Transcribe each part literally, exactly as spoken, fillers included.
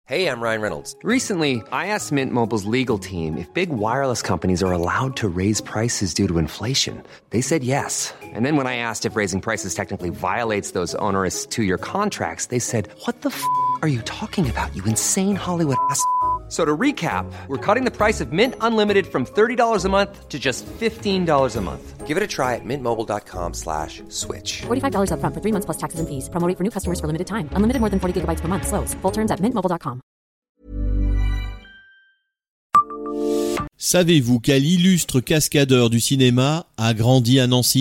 Hey, I'm Ryan Reynolds. Recently, I asked Mint Mobile's legal team if big wireless companies are allowed to raise prices due to inflation. They said yes. And then when I asked if raising prices technically violates those onerous two-year contracts, they said, what the f*** are you talking about, you insane Hollywood ass f- So to recap, we're cutting the price of Mint Unlimited from thirty dollars a month to just fifteen dollars a month. Give it a try at mintmobile.com slash switch. forty-five dollars up front for three months plus taxes and fees. Promo rate for new customers for limited time. Unlimited more than forty gigabytes per month. Slows full terms at mint mobile dot com. Savez-vous quel illustre cascadeur du cinéma a grandi à Nancy ?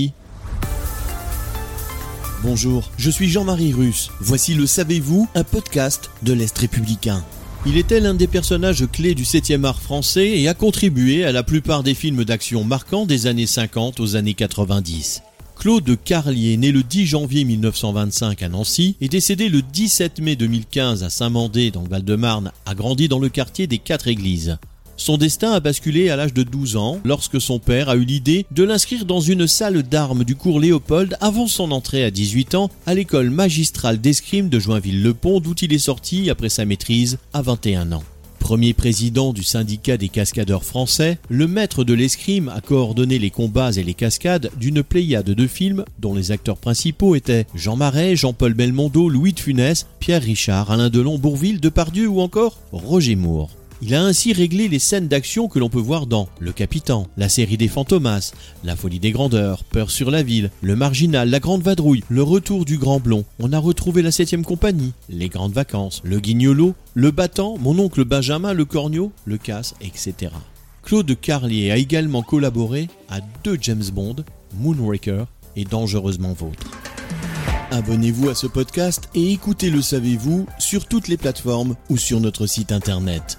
Bonjour, je suis Jean-Marie Russe. Voici le Savez-vous, un podcast de l'Est républicain. Il était l'un des personnages clés du septième art français et a contribué à la plupart des films d'action marquants des années cinquante aux années quatre-vingt-dix. Claude Carlier, né le dix janvier mille neuf cent vingt-cinq à Nancy et décédé le dix-sept mai deux mille quinze à Saint-Mandé dans le Val-de-Marne, a grandi dans le quartier des Quatre-Églises. Son destin a basculé à l'âge de douze ans lorsque son père a eu l'idée de l'inscrire dans une salle d'armes du cours Léopold avant son entrée à dix-huit ans à l'école magistrale d'escrime de Joinville-le-Pont d'où il est sorti après sa maîtrise à vingt et un ans. Premier président du syndicat des cascadeurs français, le maître de l'escrime a coordonné les combats et les cascades d'une pléiade de films dont les acteurs principaux étaient Jean Marais, Jean-Paul Belmondo, Louis de Funès, Pierre Richard, Alain Delon, Bourvil, Depardieu ou encore Roger Moore. Il a ainsi réglé les scènes d'action que l'on peut voir dans Le Capitan, la série des Fantomas, La Folie des Grandeurs, Peur sur la Ville, Le Marginal, La Grande Vadrouille, Le Retour du Grand Blond. On a retrouvé La Septième Compagnie, Les Grandes Vacances, Le Guignolo, Le Battant, Mon Oncle Benjamin, Le Cornio, Le Casse, et cetera. Claude Carlier a également collaboré à deux James Bond, Moonraker et Dangereusement Vôtre. Abonnez-vous à ce podcast et écoutez Le Savez-vous sur toutes les plateformes ou sur notre site internet.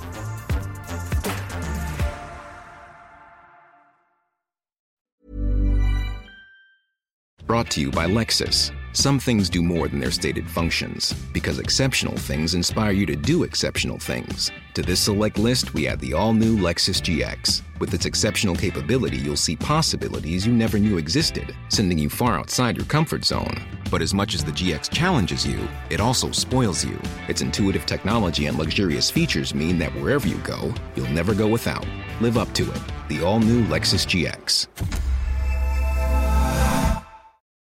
Brought to you by Lexus. Some things do more than their stated functions, because exceptional things inspire you to do exceptional things. To this select list, we add the all-new Lexus G X. With its exceptional capability, you'll see possibilities you never knew existed, sending you far outside your comfort zone. But as much as the G X challenges you, it also spoils you. Its intuitive technology and luxurious features mean that wherever you go, you'll never go without. Live up to it. The all-new Lexus G X.